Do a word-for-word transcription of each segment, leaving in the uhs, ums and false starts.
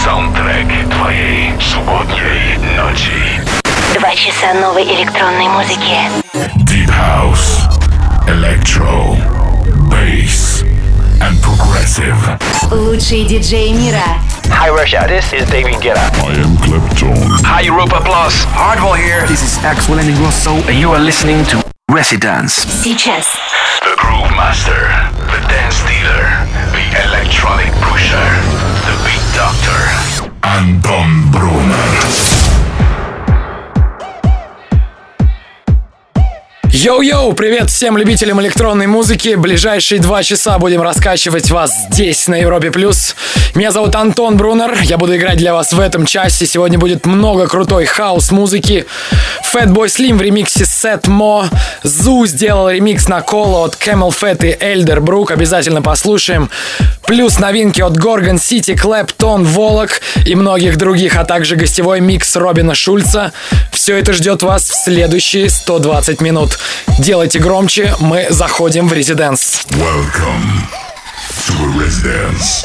Саундтрек твоей субботней ночи. Два часа новой электронной музыки. Deep House, Electro, Bass and Progressive. Лучшие диджеи мира. Hi Russia, this is David Guetta. I am Clapton. Hi Europa Plus. Hardwell here. This is Axel and Ingrosso, and you are listening to Residence. Сейчас. The Groove Master, the Dance Dealer, the Electronic Pusher, the Beat Doctor, Anton Brunner. Йоу-йоу, привет всем любителям электронной музыки. Ближайшие два часа будем раскачивать вас здесь, на Европе+. Меня зовут Антон Брунер, я буду играть для вас в этом часе. Сегодня будет много крутой хаус-музыки. Fatboy Slim в ремиксе Seth Mo. Zoo сделал ремикс на Коло от Camel Fat и Elderbrook. Обязательно послушаем. Плюс новинки от Gorgon City, Clapton, Волок и многих других, а также гостевой микс Робина Шульца. Все это ждет вас в следующие сто двадцать минут. Делайте громче, мы заходим в Residence. Welcome to a Residence.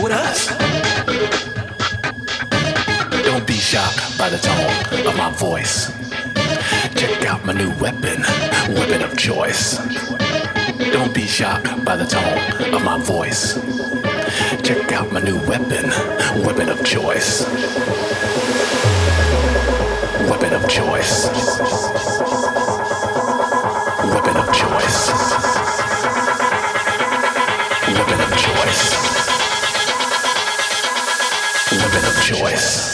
with us. Don't be shocked by the tone of my voice. Check out my new weapon, weapon of choice. Don't be shocked by the tone of my voice. Check out my new weapon, weapon of choice. Weapon of choice. Weapon of choice. Weapon of choice. Weapon of choice.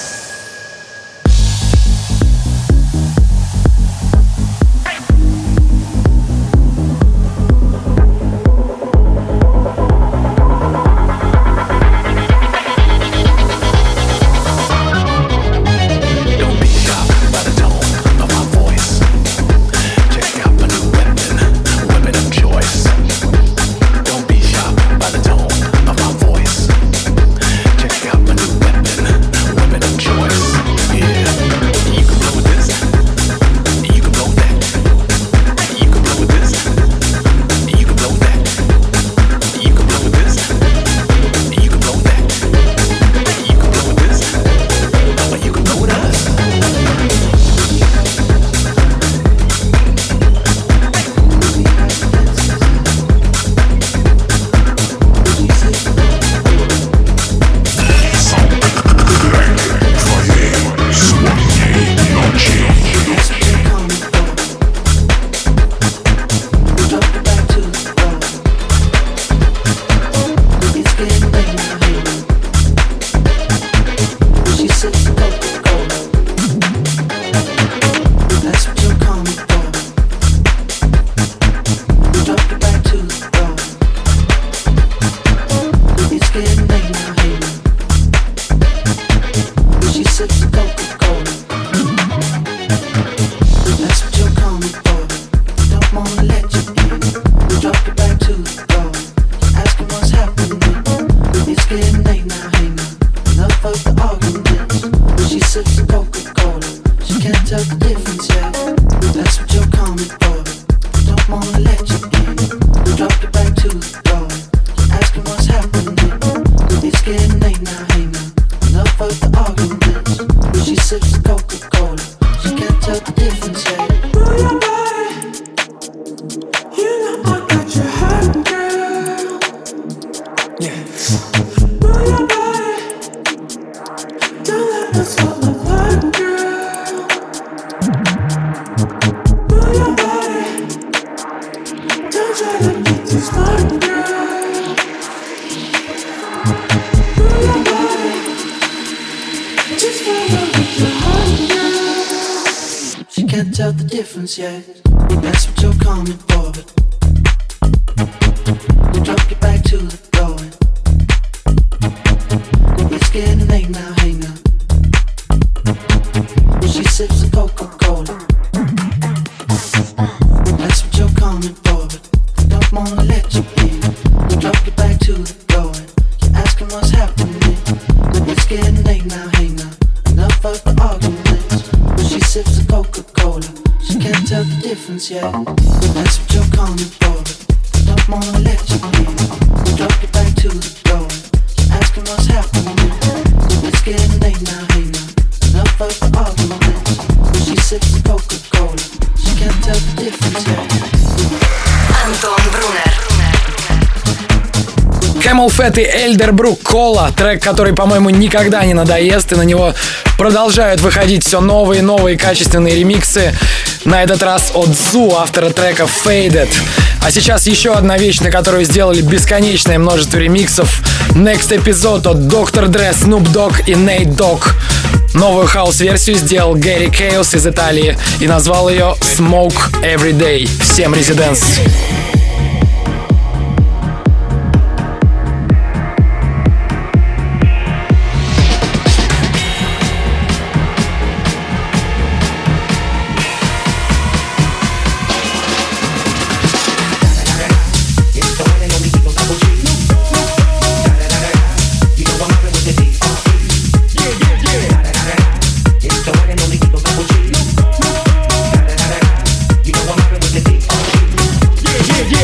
Yeah, that's what you're coming for, but you drop your back to the floor. It's getting late now, hang on. She sips a Coca-Cola. That's what you're coming for, but I don't wanna let you in. You drop your back to the floor. You're asking what's happening. It's getting late now, hang on. Enough of the arguments. She sips a Coca-Cola. She can't tell the difference yet. That's what you're coming for, but I don't wanna let you in. You drop your back to the floor. You're asking what's happening. It's getting late now, hey now. Enough of the arguments. She sips the Coca-Cola. She can't tell the difference yet. Антон Брунер. Camel Fat и Elderbrook Cola, трек, который, по-моему, никогда не надоест, и на него продолжают выходить все новые и новые качественные ремиксы. На этот раз от Zoo, автора трека Faded. А сейчас еще одна вещь, на которую сделали бесконечное множество ремиксов. Next Episode от доктор Dre, Snoop Dogg и Nate Dogg. Новую хаус-версию сделал Гэри Chaos из Италии и назвал ее Smoke Every Day. Всем резиденс. Yeah, yeah.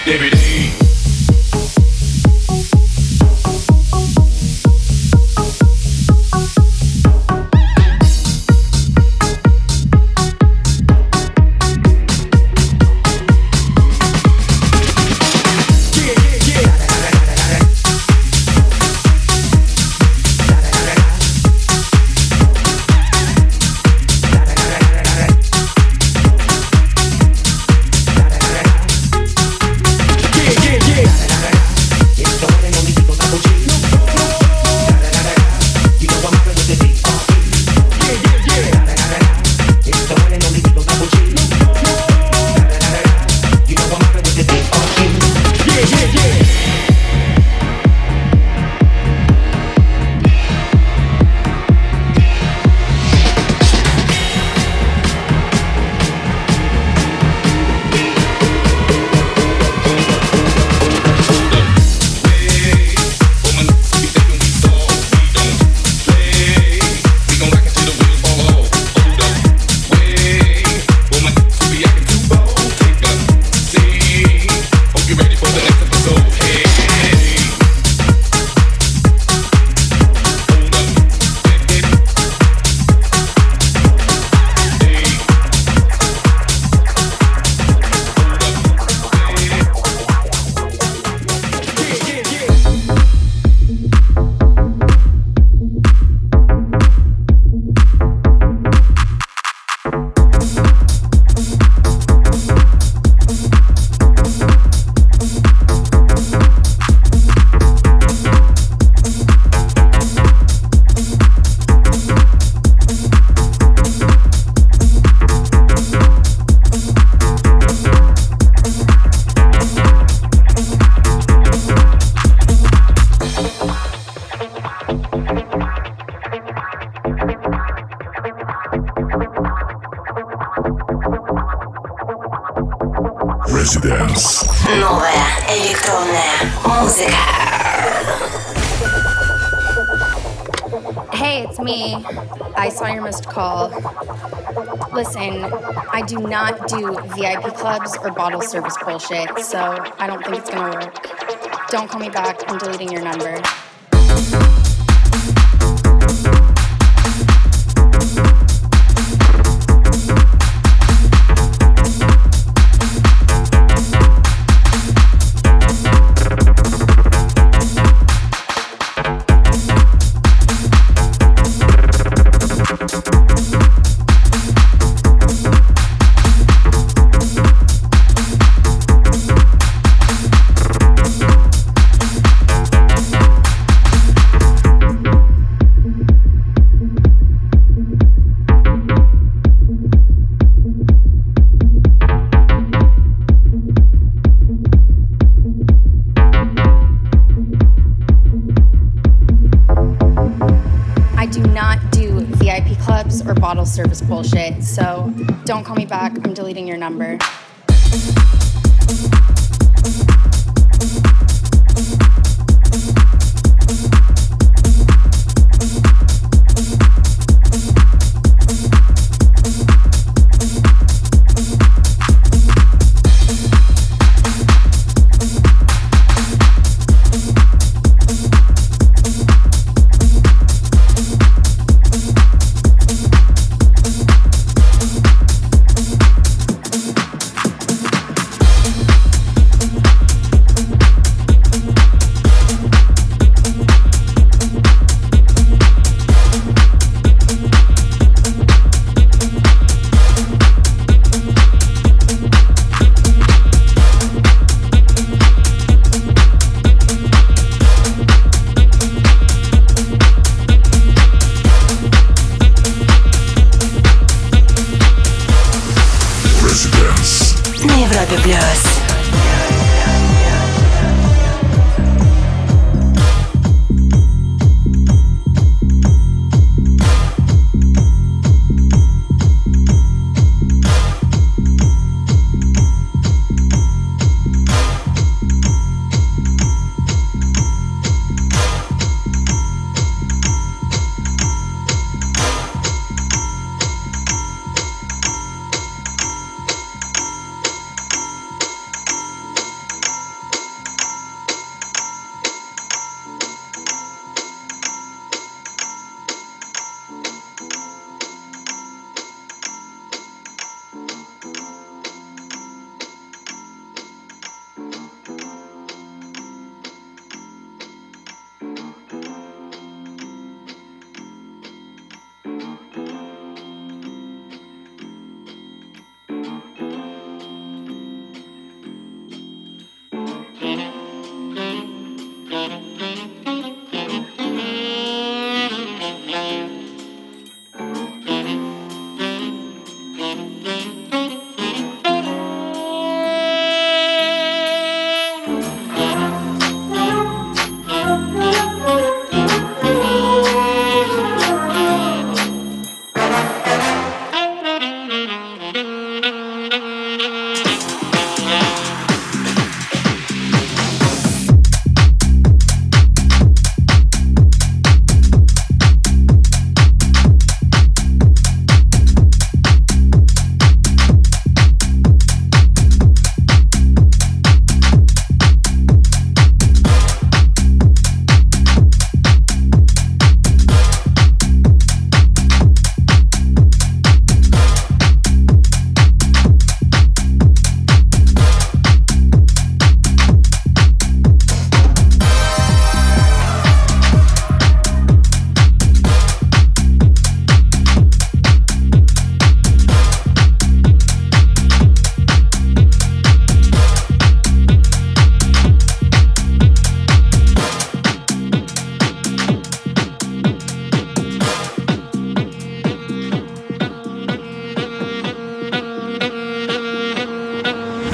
every day. Residence. Новая электронная музыка. Hey, it's me. I saw your missed call. Listen, I do not do V I P clubs or bottle service bullshit, so I don't think it's gonna work. Don't call me back. I'm deleting your number. Service bullshit, so don't call me back. I'm deleting your number.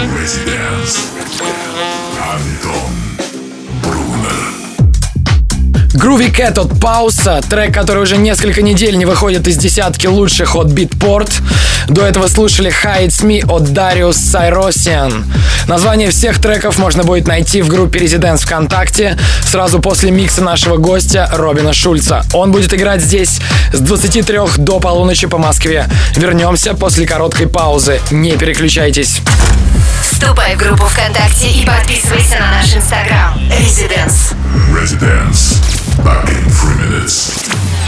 Residence. Антон Брунер. Groovy Cat от Пауса, трек, который уже несколько недель не выходит из десятки лучших от Beatport. До этого слушали Hides Me от Darius Syrossian. Название всех треков можно будет найти в группе Residence ВКонтакте сразу после микса нашего гостя Робина Шульца. Он будет играть здесь с двадцати трёх до полуночи по Москве. Вернемся после короткой паузы. Не переключайтесь. Вступай в группу ВКонтакте и подписывайся на наш инстаграм. Residence. Residence. Back in three minutes.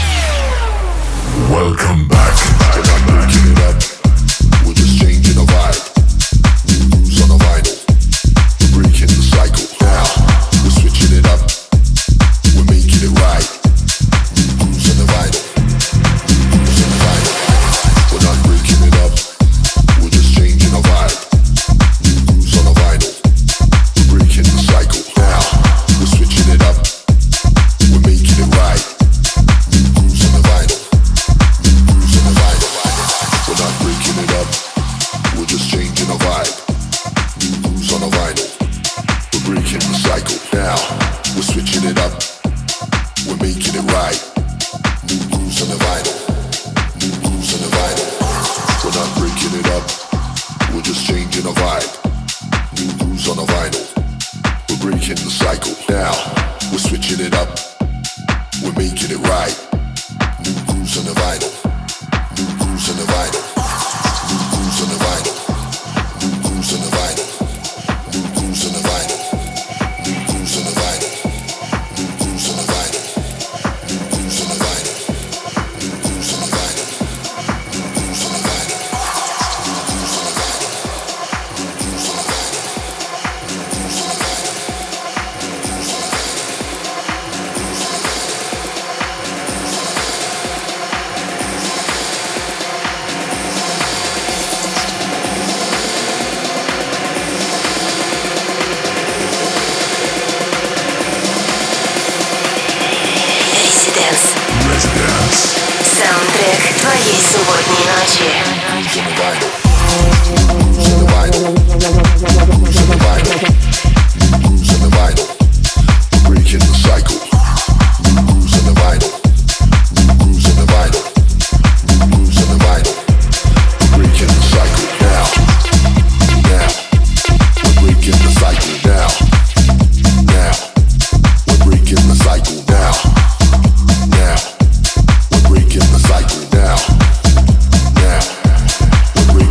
Welcome back. We're not breaking it up. We're just changing the vibe. New grooves on the vinyl. We're breaking the cycle. Now we're switching it up. We're making it right. New grooves on the vinyl. New grooves on the vinyl. We're not breaking it up. We're just changing the vibe. New grooves on the vinyl. We're breaking the cycle. Now we're switching it up. We're making it right. New grooves on the vinyl. New grooves on the vinyl. We're not breaking it up. We're just changing the vibe. New grooves on the vinyl. We're breaking the cycle. Now we're switching it up. We're making it right. New grooves on the vinyl. New grooves on the vinyl. We're not breaking it up. We're just changing the vibe. New grooves on the vinyl. We're breaking the cycle. Now we're switching it up. We're making it right. New grooves on the vinyl. New grooves on the vinyl. New grooves on the vinyl. New grooves on the vinyl. New grooves on the vinyl. New grooves on the vinyl. New grooves on the vinyl. New grooves on the vinyl. New grooves on the vinyl. New grooves on the vinyl. New grooves on the vinyl. New grooves on the vinyl. New grooves on the vinyl. Саундтрек твоей субботней ночи. We're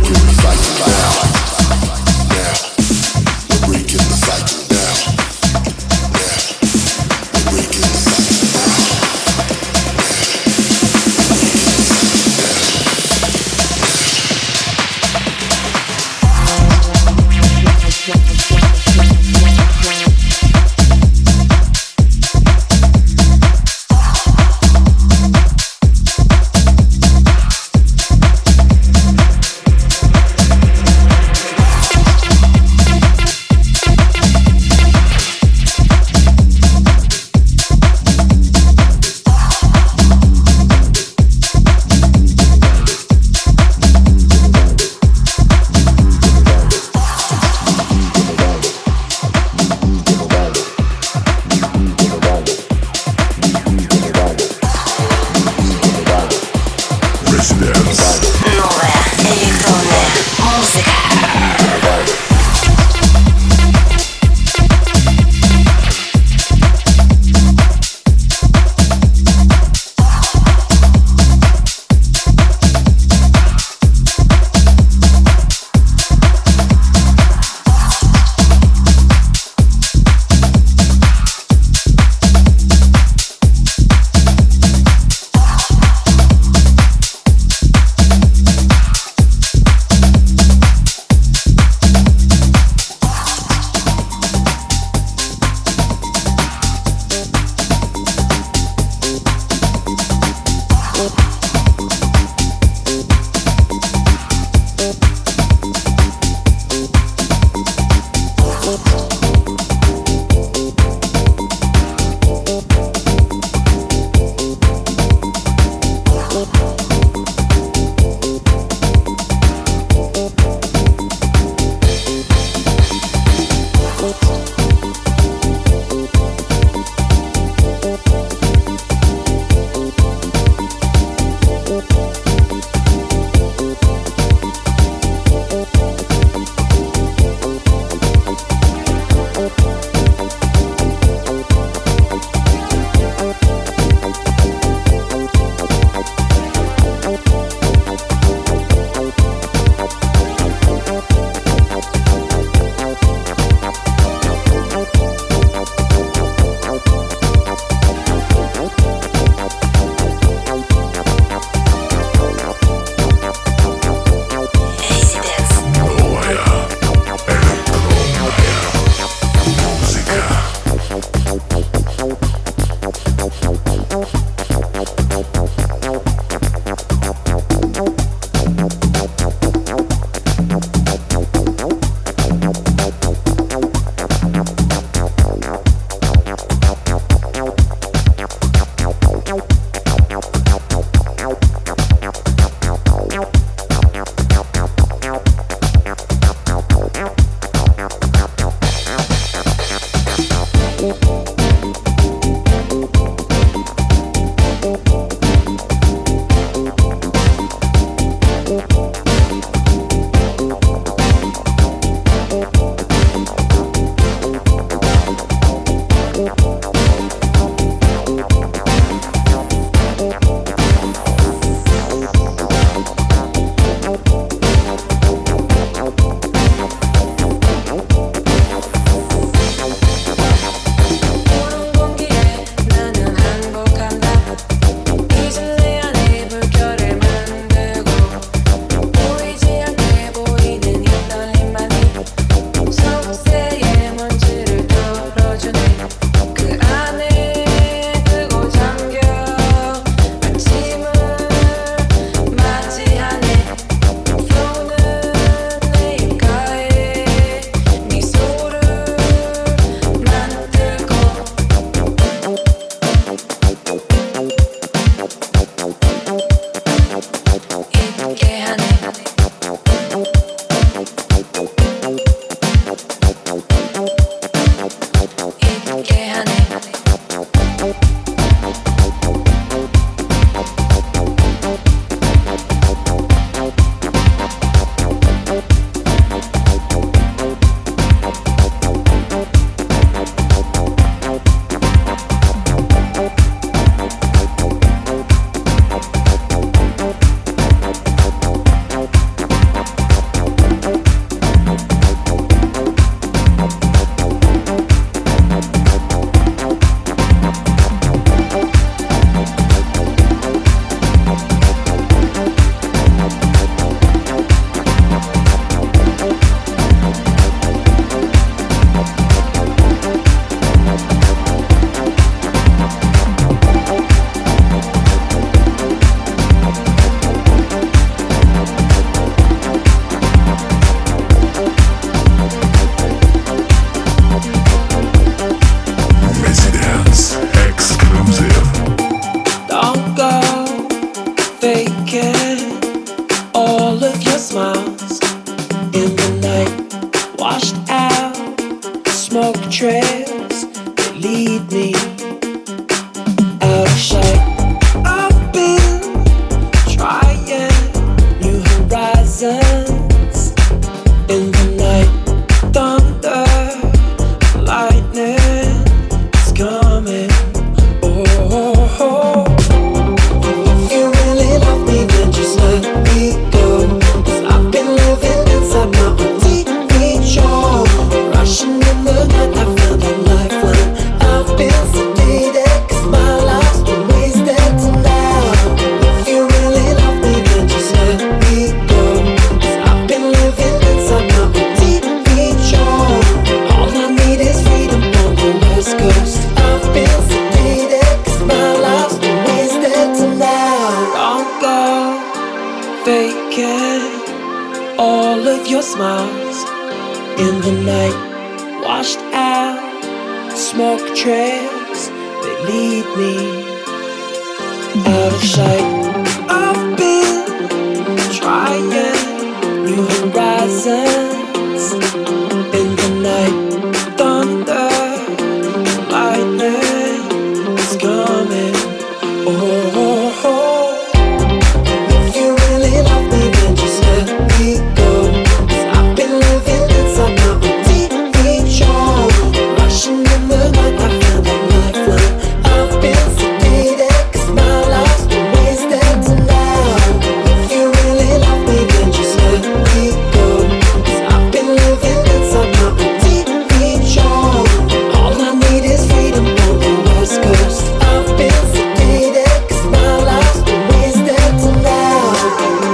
In the night, washed out, smoke trails, they lead me out of sight. I've been trying new horizons. In the night, thunder, lightning is coming. Oh, oh, oh. If you really love me, then just let me go. 'Cause I've been living inside my own T V show. Rushing in the night, I found a lifeline. I've been sedated, 'cause my life's been wasted tonight. If you really love me, then just let me go. 'Cause I've been living inside my own T V show. All I need is freedom on the West Coast. I've been sedated, 'cause my life's been wasted tonight.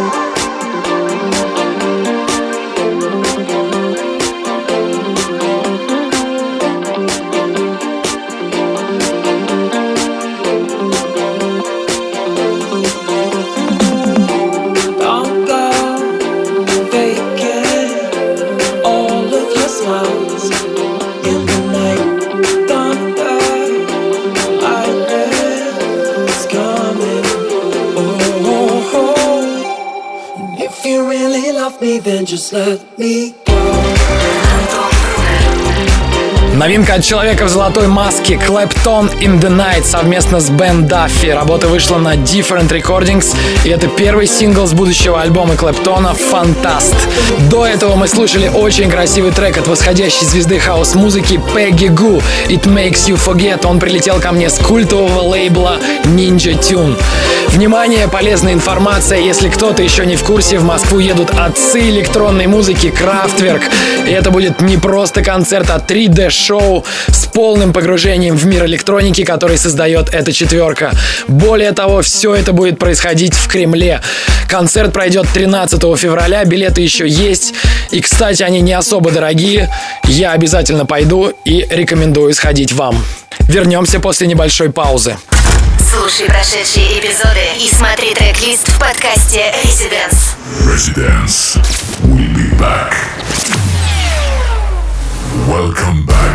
Don't go vacant all of your smiles. In the night, thunder, lightning is coming. Oh, oh, oh. If you really love me, then just let me go. Новинка от человека в золотой маске Clapton in the Night совместно с Ben Duffy. Работа вышла на Different Recordings, и это первый сингл с будущего альбома Клэптона «Фантаст». До этого мы слушали очень красивый трек от восходящей звезды хаус-музыки Peggy Gou «It Makes You Forget». Он прилетел ко мне с культового лейбла Ninja Tune. Внимание, полезная информация. Если кто-то еще не в курсе, в Москву едут отцы электронной музыки Kraftwerk. И это будет не просто концерт, а три дэ-шоу с полным погружением в мир электроники, который создает эта четверка. Более того, все это будет происходить в Кремле. Концерт пройдет тринадцатого февраля, билеты еще есть. И, кстати, они не особо дорогие. Я обязательно пойду и рекомендую сходить вам. Вернемся после небольшой паузы. Слушай прошедшие эпизоды и смотри трек-лист в подкасте Residence. Residence. We'll be back. Welcome back.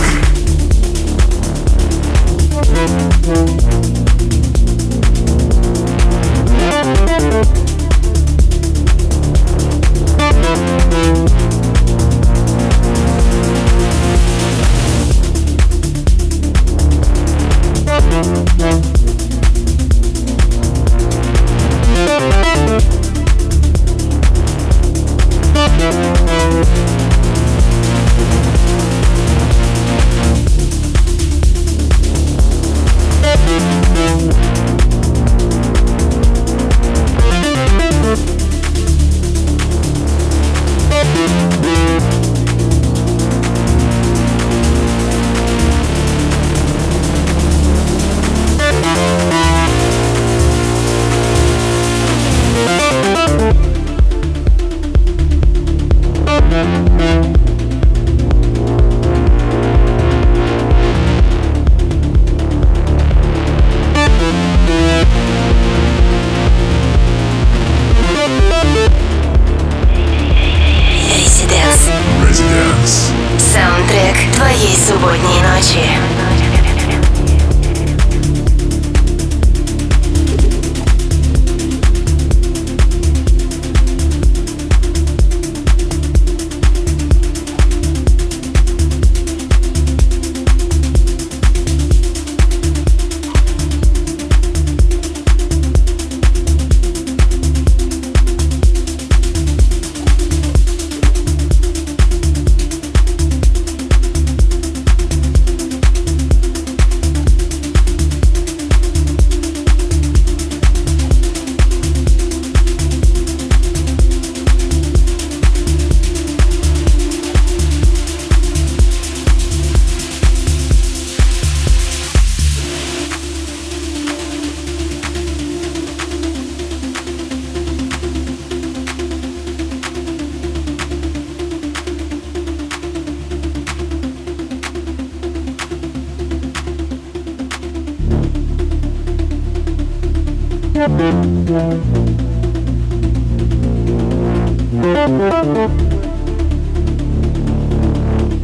Саундтрек твоей субботней ночи.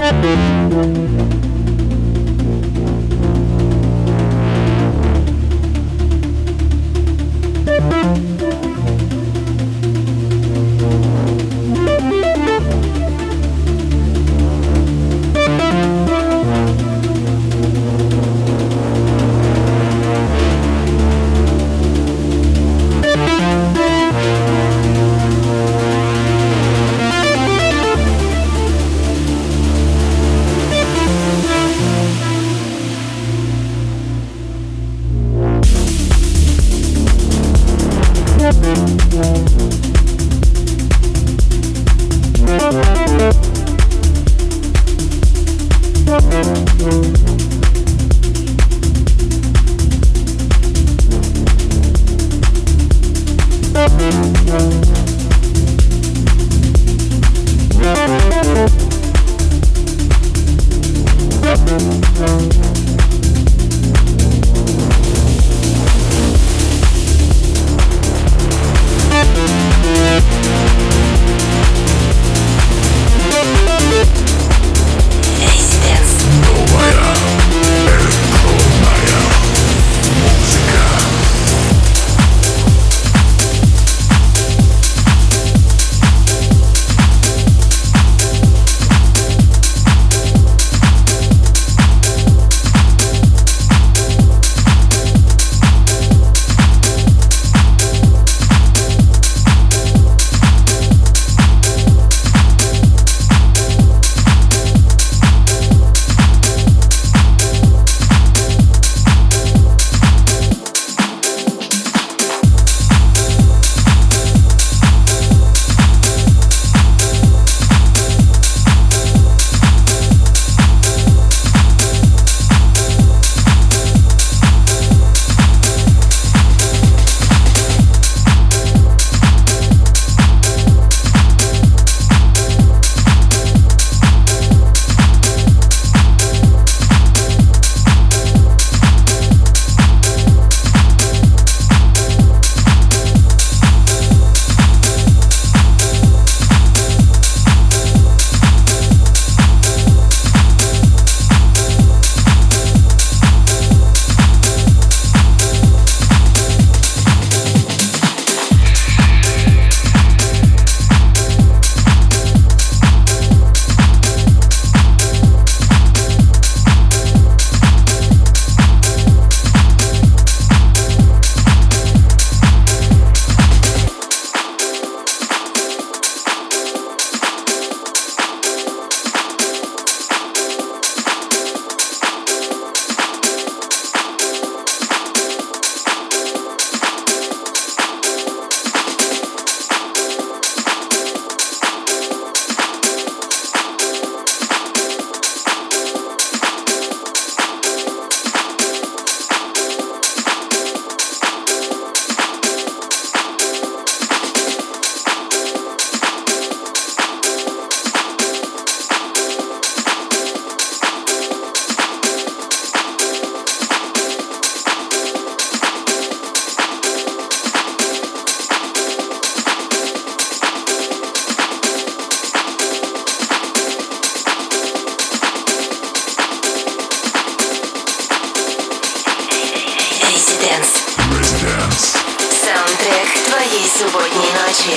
субботней ночи.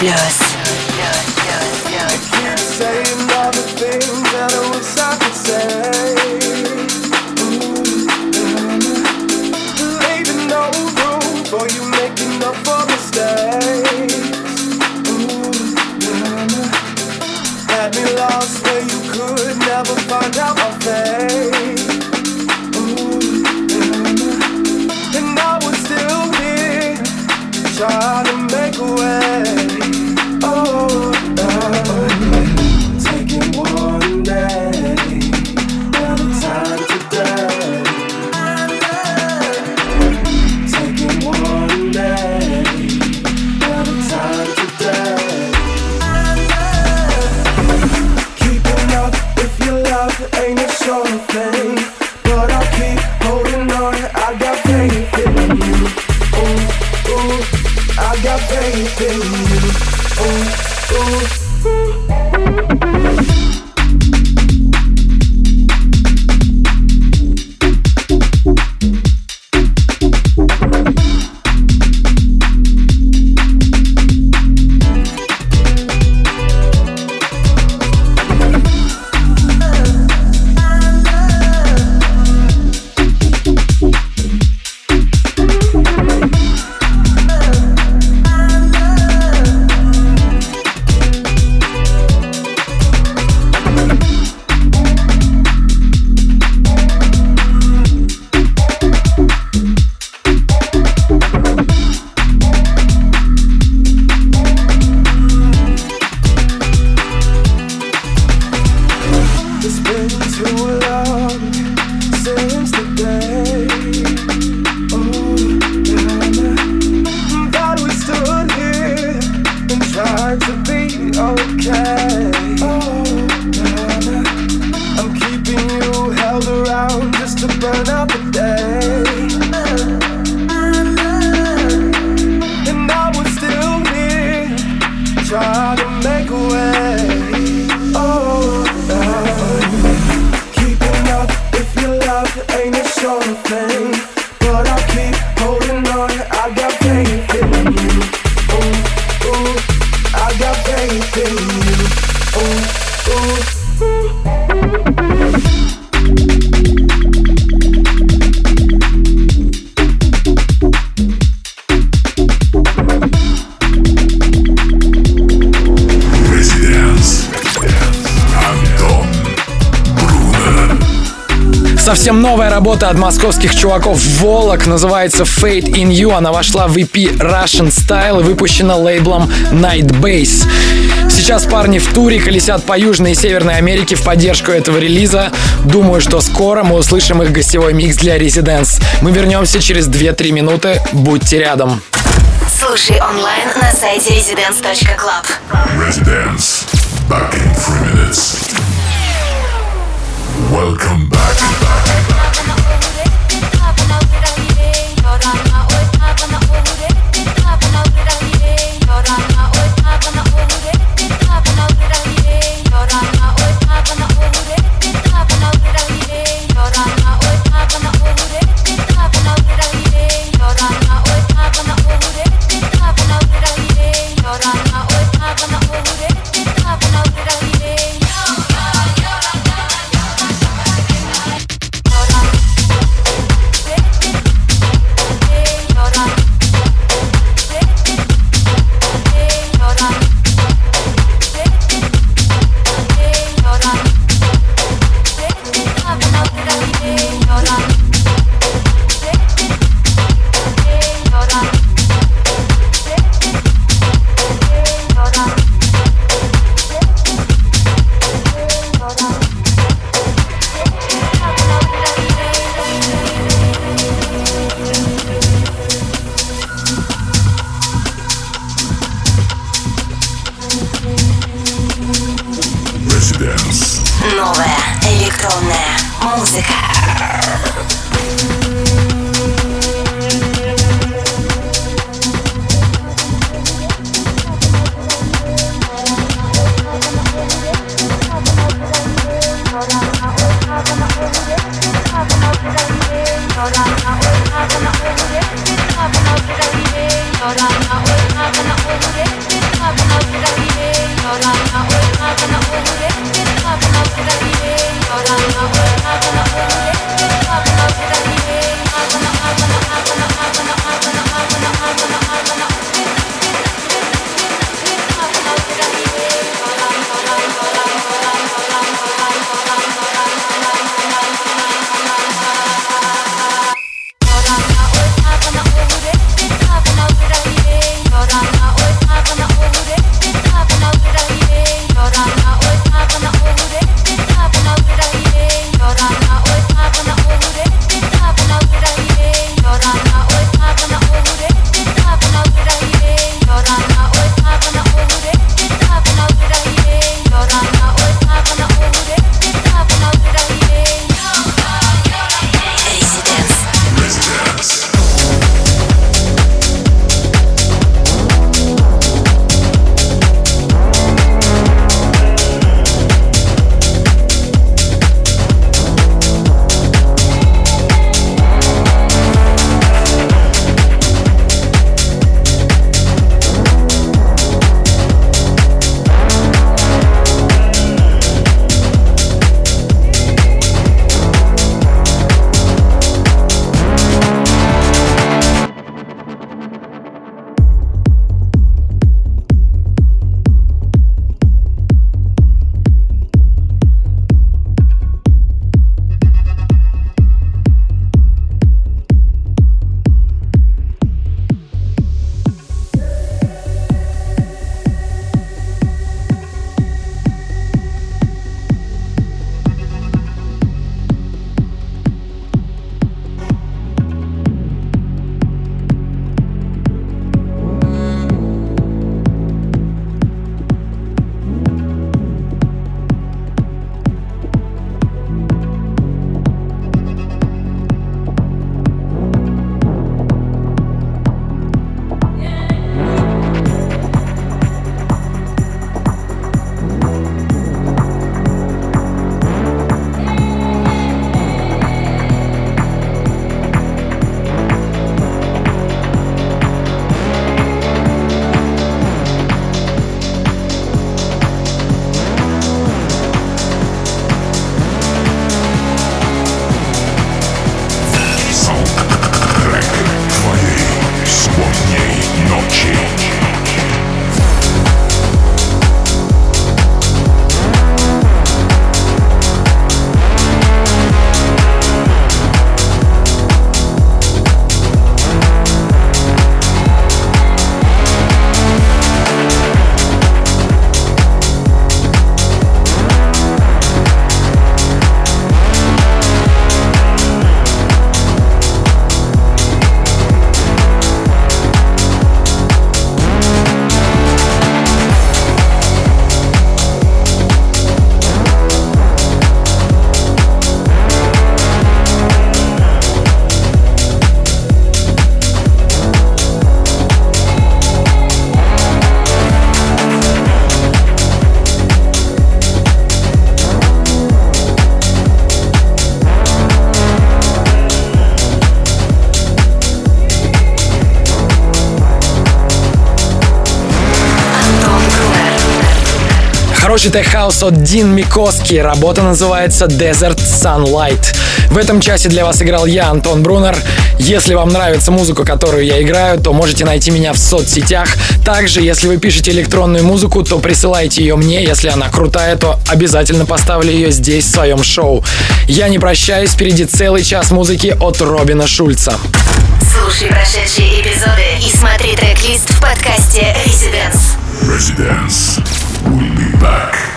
Plus. Saying all the things that I wish I could say. Ooh, leaving no room for you making up for mistakes. Ooh, had me lost where you could never find out my fate. Ooh, and I was still here trying to make a way. Oh, oh. Taking one day at a time today. Taking one day at a time today. Keeping up with your love ain't a sure thing, but I'll keep holding on. I got faith in you. Ooh, ooh, I got faith in you. Ooh, ooh, ooh. Совсем новая работа от московских чуваков Волок, называется Fate in You. Она вошла в и пи Russian Style и выпущена лейблом Night Base. Сейчас парни в туре, колесят по Южной и Северной Америке в поддержку этого релиза. Думаю, что скоро мы услышим их гостевой микс для Residence. Мы вернемся через две-три минуты. Будьте рядом. Слушай онлайн на сайте residence точка club. Residence. Back in three minutes. Welcome back. Новая электронная музыка. You're Хороший тех-хаус от Дин Микоски. Работа называется Desert Sunlight. В этом часе для вас играл я, Антон Брунер. Если вам нравится музыка, которую я играю, то можете найти меня в соцсетях. Также, если вы пишете электронную музыку, то присылайте ее мне. Если она крутая, то обязательно поставлю ее здесь, в своем шоу. Я не прощаюсь, впереди целый час музыки от Робина Шульца. Слушай прошедшие эпизоды и смотри трек-лист в подкасте Residence. Residence. We'll be back.